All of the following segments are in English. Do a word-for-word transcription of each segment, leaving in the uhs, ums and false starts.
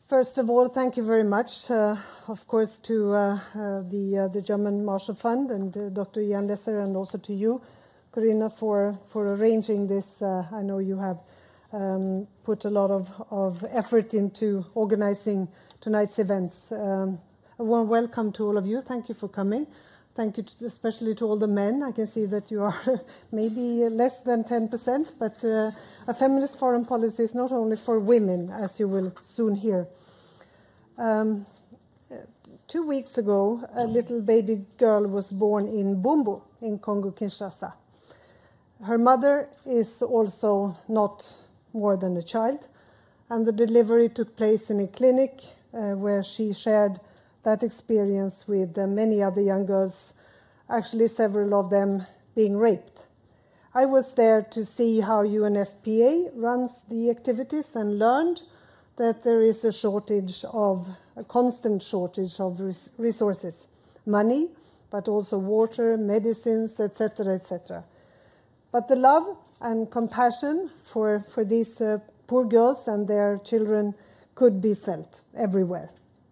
First of all, thank you very much, uh, of course, to uh, uh, the uh, the German Marshall Fund and uh, Doctor Ian Lesser, and also to you, Corinna, for for arranging this. Uh, I know you have um, put a lot of, of effort into organizing tonight's events. Um, a warm welcome to all of you. Thank you for coming. Thank you to, especially to all the men. I can see that you are maybe less than ten percent, but uh, a feminist foreign policy is not only for women, as you will soon hear. Um, two weeks ago, a little baby girl was born in Bumbu in Congo-Kinshasa. Her mother is also not more than a child, and the delivery took place in a clinic uh, where she shared that experience with uh, many other young girls, actually several of them being raped. I was there to see how U N F P A runs the activities and learned that there is a shortage of, a constant shortage of res resources, money, but also water, medicines, et cetera, et cetera. But the love and compassion for, for these uh, poor girls and their children could be felt everywhere.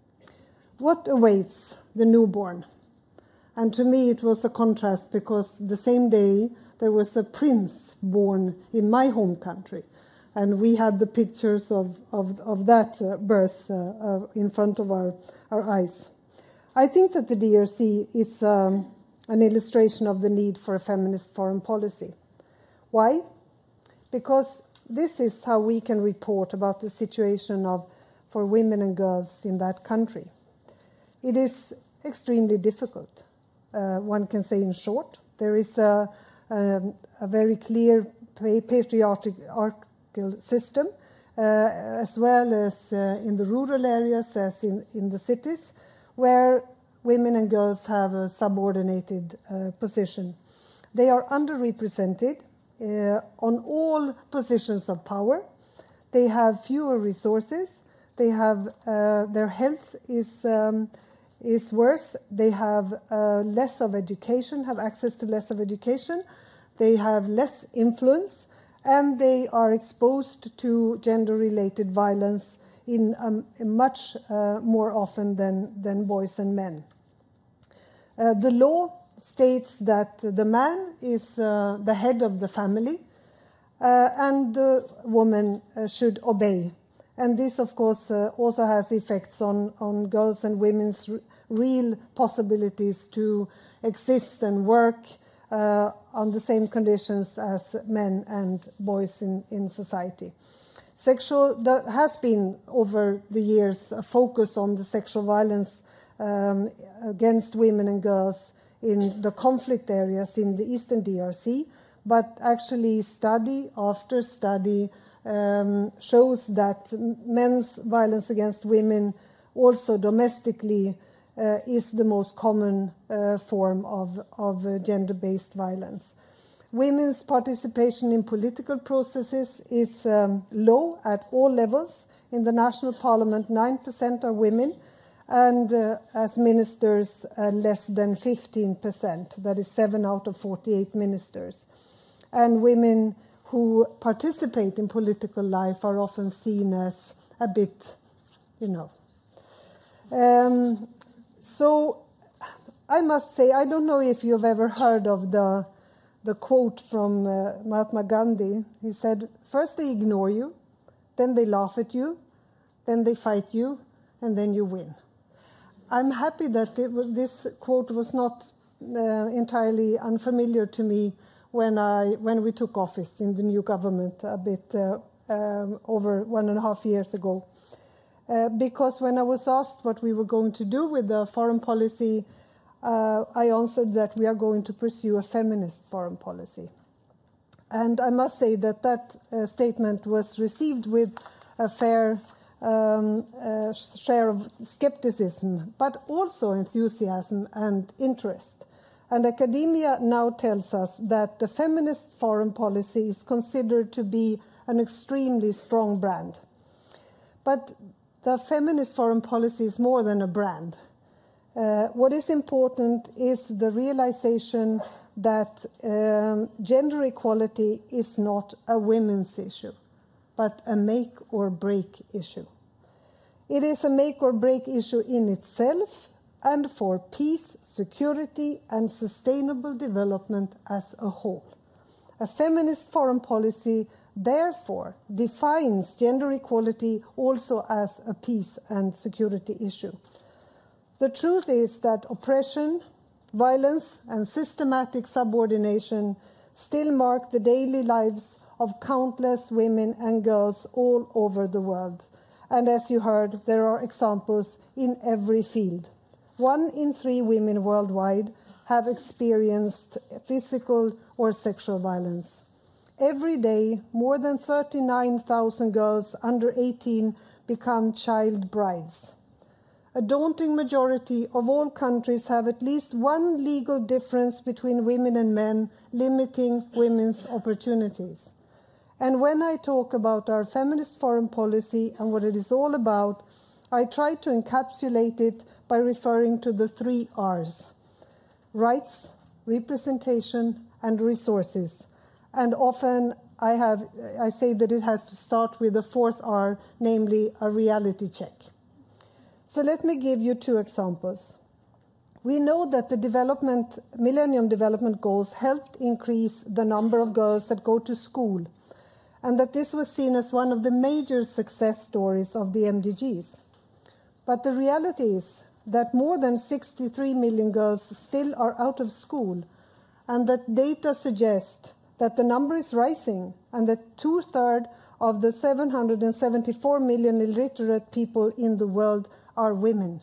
What awaits the newborn? And to me it was a contrast, because the same day there was a prince born in my home country, and we had the pictures of, of, of that uh, birth uh, uh, in front of our, our eyes. I think that the D R C is um, an illustration of the need for a feminist foreign policy. Why? Because this is how we can report about the situation of, for women and girls in that country. It is extremely difficult. Uh, one can say in short, there is a, a, a very clear patriarchal system, uh, as well as uh, in the rural areas as in, in the cities, where women and girls have a subordinated uh, position. They are underrepresented uh, on all positions of power. They have fewer resources. They have, uh, their health is um, is worse. They have uh, less of education, have access to less of education. They have less influence, and they are exposed to gender-related violence in um, much uh, more often than, than boys and men. Uh, the law states that the man is uh, the head of the family, uh, and the woman uh, should obey. And this, of course, uh, also has effects on, on girls' and women's real possibilities to exist and work uh, on the same conditions as men and boys in, in society. Sexual, there has been over the years a focus on the sexual violence um, against women and girls in the conflict areas in the Eastern D R C, but actually study after study um, shows that men's violence against women also domestically Uh, is the most common uh, form of, of uh, gender-based violence. Women's participation in political processes is um, low at all levels. In the national parliament, nine percent are women, and uh, as ministers, uh, less than fifteen percent. That is seven out of forty-eight ministers. And women who participate in political life are often seen as a bit, you know. Um, So I must say, I don't know if you've ever heard of the, the quote from uh, Mahatma Gandhi. He said, first they ignore you, then they laugh at you, then they fight you, and then you win. I'm happy that it, this quote was not uh, entirely unfamiliar to me when, I, when we took office in the new government a bit uh, um, over one and a half years ago. Uh, because when I was asked what we were going to do with the foreign policy, uh, I answered that we are going to pursue a feminist foreign policy. And I must say that that uh, statement was received with a fair um, uh, share of skepticism, but also enthusiasm and interest. And academia now tells us that the feminist foreign policy is considered to be an extremely strong brand. But the feminist foreign policy is more than a brand. Uh, what is important is the realization that um, gender equality is not a women's issue, but a make or break issue. It is a make or break issue in itself and for peace, security, and sustainable development as a whole. A feminist foreign policy, therefore, defines gender equality also as a peace and security issue. The truth is that oppression, violence, and systematic subordination still mark the daily lives of countless women and girls all over the world. And as you heard, there are examples in every field. One in three women worldwide have experienced physical or sexual violence. Every day, more than thirty-nine thousand girls under eighteen become child brides. A daunting majority of all countries have at least one legal difference between women and men, limiting women's opportunities. And when I talk about our feminist foreign policy and what it is all about, I try to encapsulate it by referring to the three R's: rights, representation, and resources. And often I, have, I say that it has to start with the fourth R, namely a reality check. So let me give you two examples. We know that the development, Millennium Development Goals helped increase the number of girls that go to school, and that this was seen as one of the major success stories of the M D Gs. But the reality is that more than sixty-three million girls still are out of school, and that data suggest that the number is rising, and that two-thirds of the seven hundred seventy-four million illiterate people in the world are women.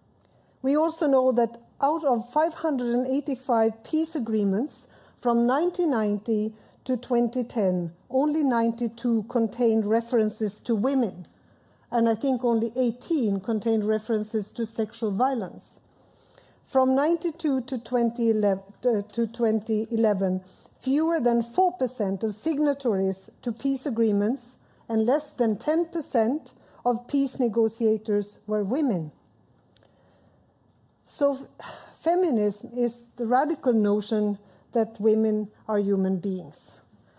We also know that out of five hundred eighty-five peace agreements from nineteen ninety to twenty ten, only ninety-two contained references to women, and I think only eighteen contained references to sexual violence. From ninety-two to twenty eleven, fewer than four percent of signatories to peace agreements and less than ten percent of peace negotiators were women. So feminism is the radical notion that women are human beings.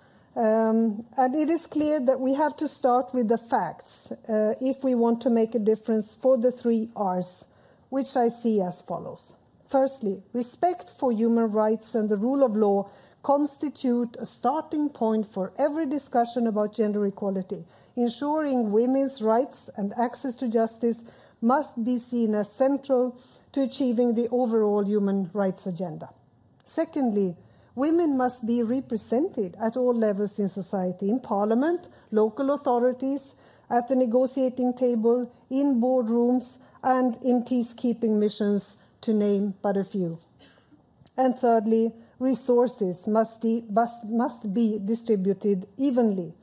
Um, and it is clear that we have to start with the facts uh, if we want to make a difference for the three R's, which I see as follows. Firstly, respect for human rights and the rule of law constitute a starting point for every discussion about gender equality. Ensuring women's rights and access to justice must be seen as central to achieving the overall human rights agenda. Secondly, women must be represented at all levels in society, in parliament, local authorities, at the negotiating table, in boardrooms, and in peacekeeping missions, to name but a few. And thirdly, resources must, must, must be distributed evenly.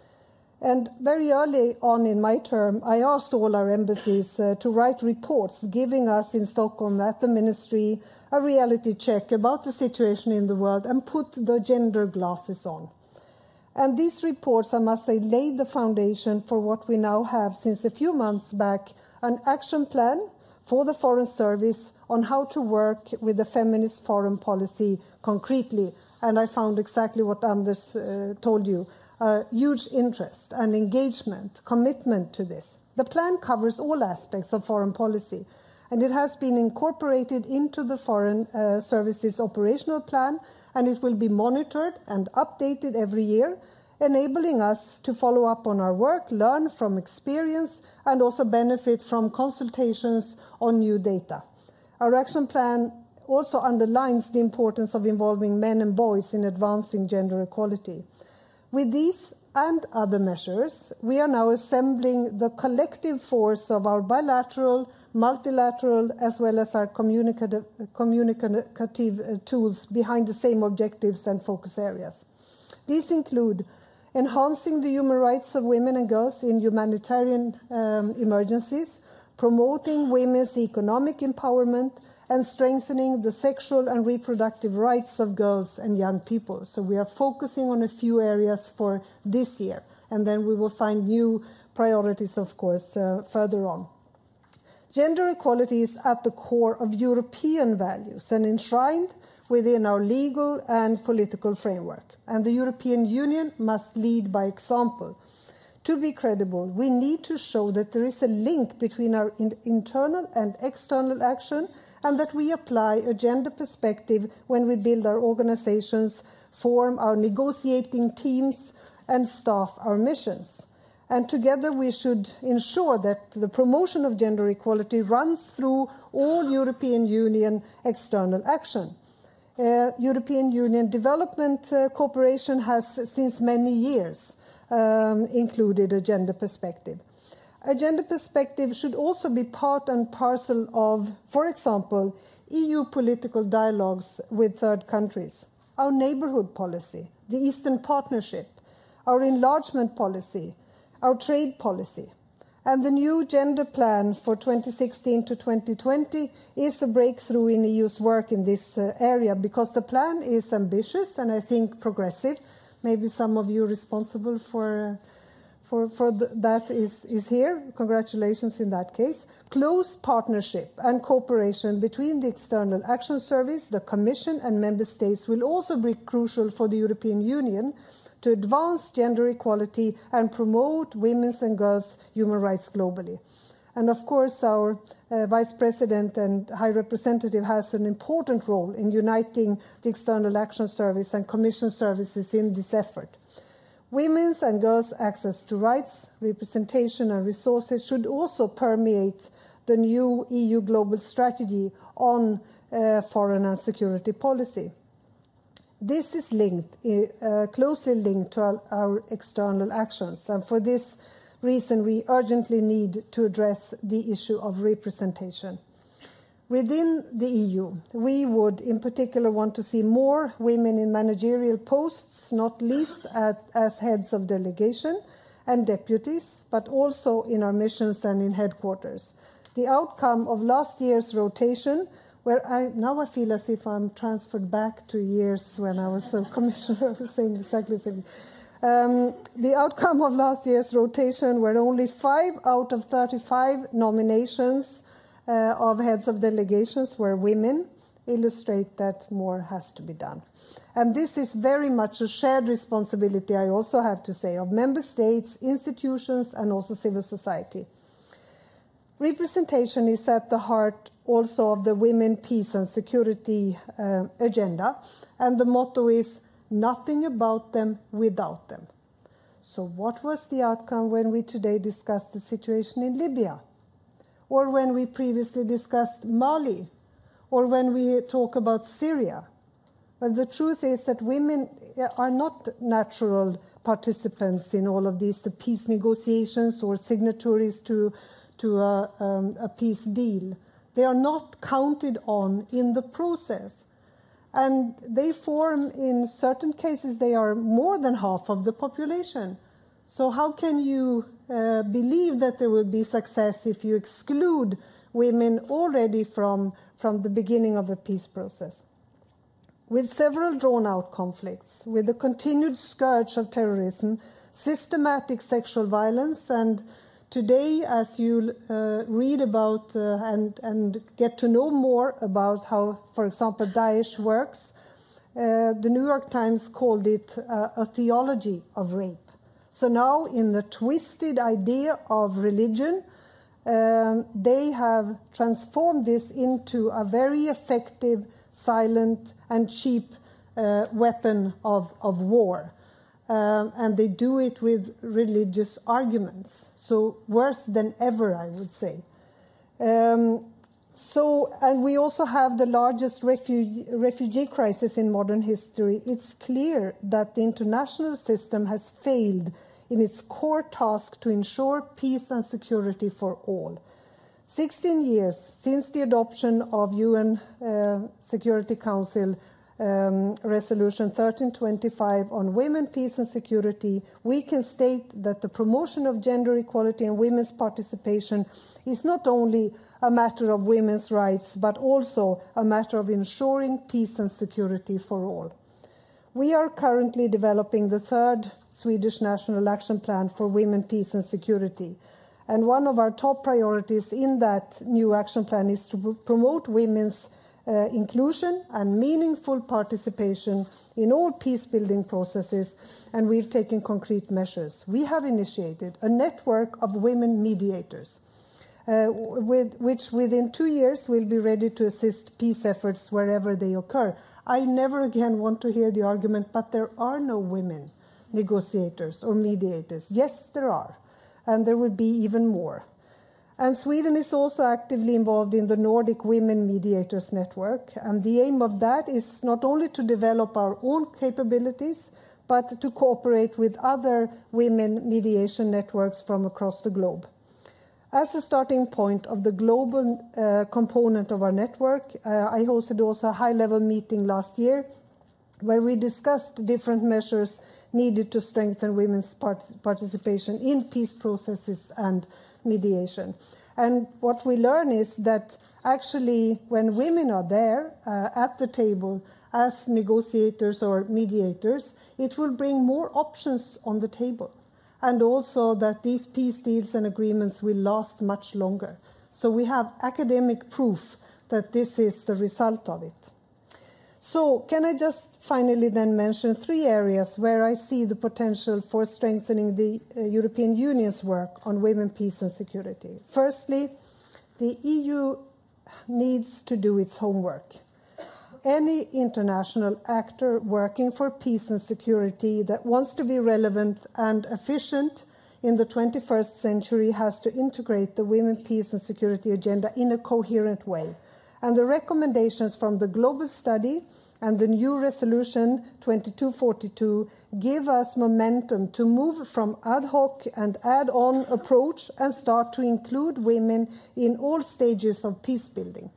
And very early on in my term, I asked all our embassies uh, to write reports giving us in Stockholm at the ministry a reality check about the situation in the world and put the gender glasses on. And these reports, I must say, laid the foundation for what we now have since a few months back, an action plan for the Foreign Service on how to work with the feminist foreign policy concretely. And I found exactly what Anders uh, told you. Uh, huge interest and engagement, commitment to this. The plan covers all aspects of foreign policy, and it has been incorporated into the Foreign uh, Service's operational plan, and it will be monitored and updated every year, enabling us to follow up on our work, learn from experience, and also benefit from consultations on new data. Our action plan also underlines the importance of involving men and boys in advancing gender equality. With these and other measures, we are now assembling the collective force of our bilateral, multilateral, as well as our communicative, communicative tools behind the same objectives and focus areas. These include enhancing the human rights of women and girls in humanitarian um, emergencies, promoting women's economic empowerment, and strengthening the sexual and reproductive rights of girls and young people. So we are focusing on a few areas for this year, and then we will find new priorities, of course, uh, further on. Gender equality is at the core of European values and enshrined within our legal and political framework. And the European Union must lead by example. To be credible, we need to show that there is a link between our in internal and external action, and that we apply a gender perspective when we build our organizations, form our negotiating teams, and staff our missions. And together we should ensure that the promotion of gender equality runs through all European Union external action. Uh, European Union development uh, cooperation has since many years um, included a gender perspective. A gender perspective should also be part and parcel of, for example, E U political dialogues with third countries, our neighborhood policy, the Eastern Partnership, our enlargement policy, our trade policy. And the new gender plan for twenty sixteen to twenty twenty is a breakthrough in E U's work in this uh, area, because the plan is ambitious and I think progressive. Maybe some of you responsible for, uh, for, for th that is, is here. Congratulations in that case. Close partnership and cooperation between the External Action Service, the Commission and Member States will also be crucial for the European Union to advance gender equality and promote women's and girls' human rights globally. And of course, our uh, Vice President and High Representative has an important role in uniting the External Action Service and Commission services in this effort. Women's and girls' access to rights, representation and resources should also permeate the new E U global strategy on uh, foreign and security policy. This is linked, uh, closely linked to our, our external actions, and for this reason we urgently need to address the issue of representation. Within the E U, we would in particular want to see more women in managerial posts, not least at, as heads of delegation and deputies, but also in our missions and in headquarters. The outcome of last year's rotation, where I, now I feel as if I'm transferred back to years when I was a commissioner, I was saying exactly the same. Um, the outcome of last year's rotation, where only five out of thirty-five nominations uh, of heads of delegations were women, illustrate that more has to be done. And this is very much a shared responsibility, I also have to say, of member states, institutions, and also civil society. Representation is at the heart also of the Women, Peace and Security uh, agenda, and the motto is nothing about them without them. So what was the outcome when we today discussed the situation in Libya? Or when we previously discussed Mali? Or when we talk about Syria? Well, the truth is that women are not natural participants in all of these, the peace negotiations or signatories to, to a, um, a peace deal. They are not counted on in the process. And they form, in certain cases, they are more than half of the population. So how can you uh, believe that there will be success if you exclude women already from, from the beginning of a peace process? With several drawn-out conflicts, with the continued scourge of terrorism, systematic sexual violence, and today, as you uh, read about uh, and, and get to know more about how, for example, Daesh works, uh, the New York Times called it uh, a theology of rape. So now, in the twisted idea of religion, um, they have transformed this into a very effective, silent, and cheap uh, weapon of, of war. Um, and they do it with religious arguments. So worse than ever, I would say. Um, so, and we also have the largest refugee, refugee crisis in modern history. It's clear that the international system has failed in its core task to ensure peace and security for all. sixteen years since the adoption of U N uh, Security Council Um, Resolution thirteen twenty-five on women, peace and security, we can state that the promotion of gender equality and women's participation is not only a matter of women's rights, but also a matter of ensuring peace and security for all. We are currently developing the third Swedish National Action Plan for Women, Peace and Security. And one of our top priorities in that new action plan is to promote women's uh, inclusion and meaningful participation in all peace-building processes, and we've taken concrete measures. We have initiated a network of women mediators, uh, with, which within two years will be ready to assist peace efforts wherever they occur. I never again want to hear the argument, but there are no women negotiators or mediators. Yes, there are, and there will be even more. And Sweden is also actively involved in the Nordic Women Mediators Network, and the aim of that is not only to develop our own capabilities, but to cooperate with other women mediation networks from across the globe. As a starting point of the global uh, component of our network, uh, I hosted also a high-level meeting last year where we discussed different measures needed to strengthen women's part participation in peace processes and mediation. And what we learn is that actually when women are there uh, at the table as negotiators or mediators, it will bring more options on the table. And also that these peace deals and agreements will last much longer. So we have academic proof that this is the result of it. So can I just finally then mention three areas where I see the potential for strengthening the uh, European Union's work on women, peace and security. Firstly, the E U needs to do its homework. Any international actor working for peace and security that wants to be relevant and efficient in the twenty-first century has to integrate the women, peace and security agenda in a coherent way. And the recommendations from the global study and the new resolution twenty-two forty-two give us momentum to move from ad hoc and add-on approach and start to include women in all stages of peace building.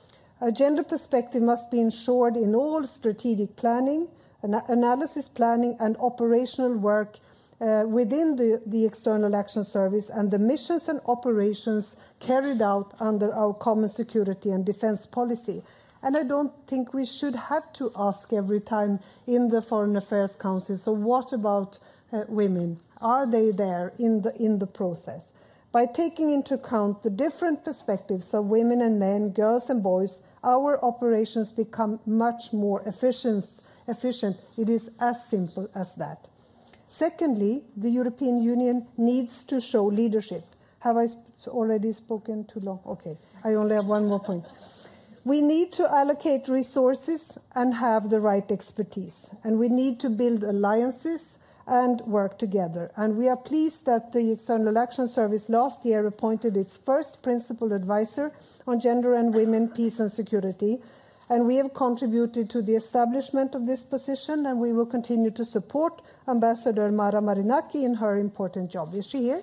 A gender perspective must be ensured in all strategic planning, ana analysis planning and operational work uh, within the, the External Action Service and the missions and operations carried out under our common security and defense policy. And I don't think we should have to ask every time in the Foreign Affairs Council, so what about uh, women? Are they there in the, in the process? By taking into account the different perspectives of women and men, girls and boys, our operations become much more efficient. efficient. It is as simple as that. Secondly, the European Union needs to show leadership. Have I already spoken too long? Okay, I only have one more point. We need to allocate resources and have the right expertise. And we need to build alliances and work together. And we are pleased that the External Action Service last year appointed its first principal advisor on gender and women, peace and security. And we have contributed to the establishment of this position, and we will continue to support Ambassador Mara Marinaki in her important job. Is she here?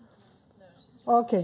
No, she's okay.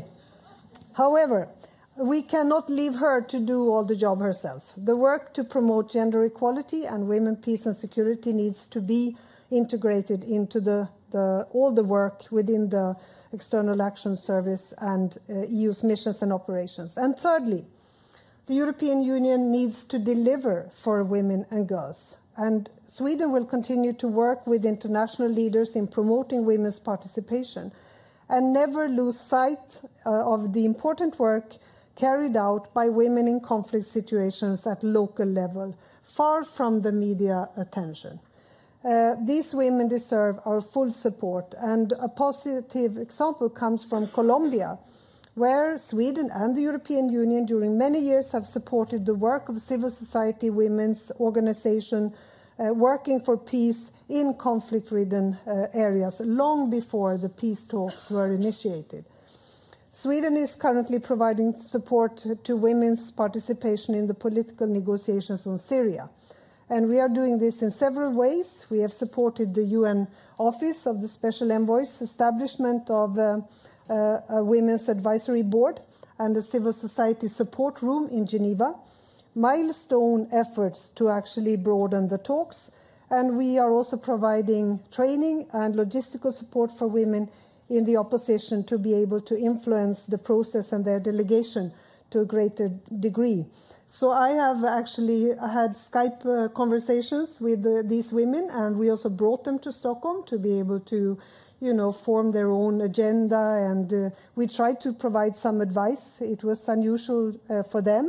However, we cannot leave her to do all the job herself. The work to promote gender equality and women, peace and security needs to be integrated into the, the, all the work within the External Action Service and uh, E U's missions and operations. And thirdly, the European Union needs to deliver for women and girls. And Sweden will continue to work with international leaders in promoting women's participation and never lose sight uh, of the important work carried out by women in conflict situations at local level, far from the media attention. Uh, these women deserve our full support, and a positive example comes from Colombia, where Sweden and the European Union during many years have supported the work of civil society women's organization uh, working for peace in conflict-ridden uh, areas long before the peace talks were initiated. Sweden is currently providing support to women's participation in the political negotiations on Syria. And we are doing this in several ways. We have supported the U N Office of the Special Envoy's establishment of uh, uh, a Women's Advisory Board and a civil society support room in Geneva, milestone efforts to actually broaden the talks. And we are also providing training and logistical support for women in the opposition to be able to influence the process and their delegation to a greater degree. So I have actually had Skype uh, conversations with uh, these women, and we also brought them to Stockholm to be able to, you know, form their own agenda, and uh, we tried to provide some advice. It was unusual uh, for them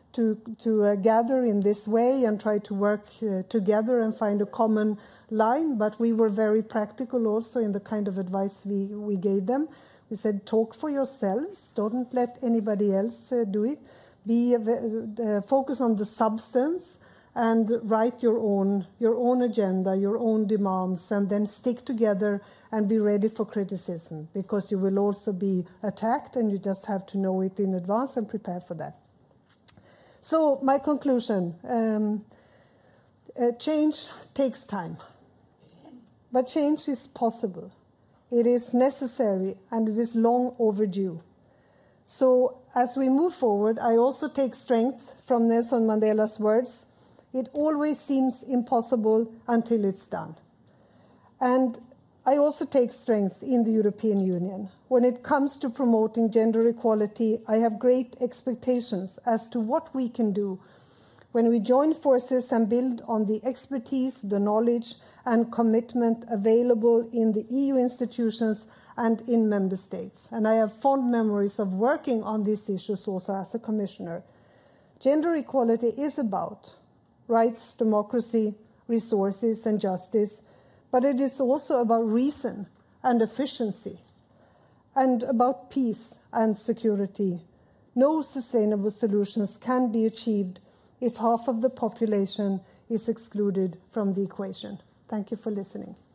to, to uh, gather in this way and try to work uh, together and find a common line, but we were very practical also in the kind of advice we, we gave them. We said, talk for yourselves, don't let anybody else uh, do it. Be uh, uh, focus on the substance and write your own, your own agenda, your own demands, and then stick together and be ready for criticism, because you will also be attacked and you just have to know it in advance and prepare for that. So my conclusion, um, uh, change takes time, but change is possible. It is necessary and it is long overdue. So as we move forward, I also take strength from Nelson Mandela's words. It always seems impossible until it's done. And I also take strength in the European Union. When it comes to promoting gender equality, I have great expectations as to what we can do when we join forces and build on the expertise, the knowledge, and commitment available in the E U institutions and in member states. And I have fond memories of working on these issues also as a commissioner. Gender equality is about rights, democracy, resources, and justice, but it is also about reason and efficiency, and about peace and security. No sustainable solutions can be achieved if half of the population is excluded from the equation. Thank you for listening.